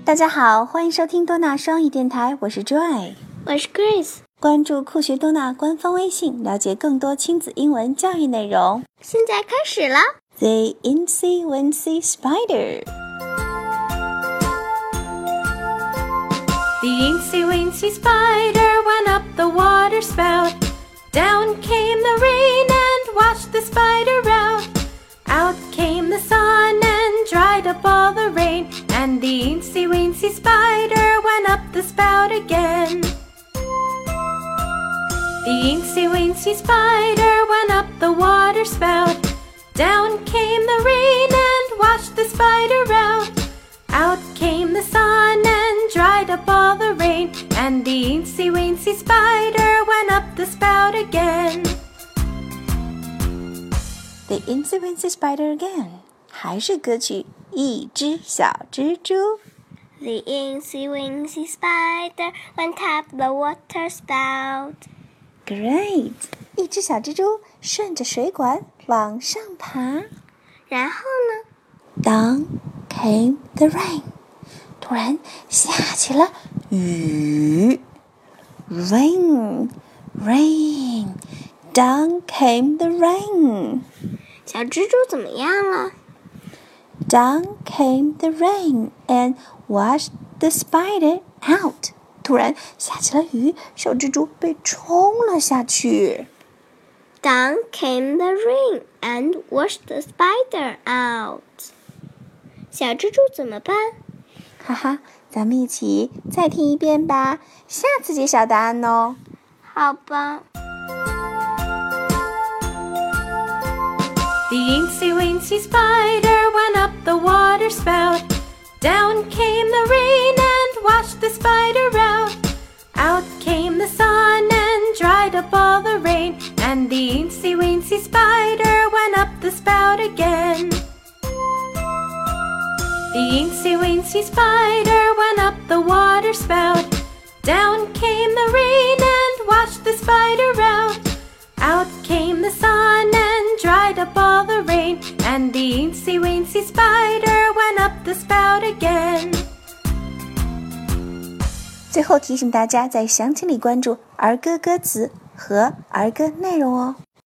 大家好，欢迎收听多纳双语电台，我是 Joy， 我是 Grace。 关注酷学多纳官方微信，了解更多亲子英文教育内容。 现在开始了。 The Incy Wincy Spider. The Incy Wincy Spider went up the water spout. Down came the rain and washed the spider out. Out came the sun and dried up all the rain. And the Incy Wincy Spider went up the spout again. The Incy Wincy Spider went up the water spout. Down came the rain and washed the spider out. Out came the sun and dried up all the rain. And the Incy Wincy Spider went up the spout again. The Incy Wincy Spider again. 还是歌曲一只小蜘蛛。 The Incy Wincy Spider went up the water spout. Great! 一只小蜘蛛顺着水管往上爬。 然后呢？ Down came the rain. 突然下起了雨。Rain, rain. Down came the rain. 小蜘蛛怎么样了？ Down came the rain and washed the spider out. 突然下起了雨，小蜘蛛被冲了下去。 Down came the rain and washed the spider out. 小蜘蛛怎么办？ 哈哈，咱们一起再听一遍吧，下次揭晓答案哦。 好吧。 The Incy Wincy Spider went up the water spout. Down came the rain and washed the spider out. Out came the sun and dried up all the rain. And the Incy Wincy Spider went up the spout again. The Incy Wincy Spider went up the water spout. Down came the rain and washed the spider out. Out came the sun and dried up all the rain. And the Incy Wincy Spider went up the spout again. 最后提醒大家在详情里关注儿歌歌词和儿歌内容哦。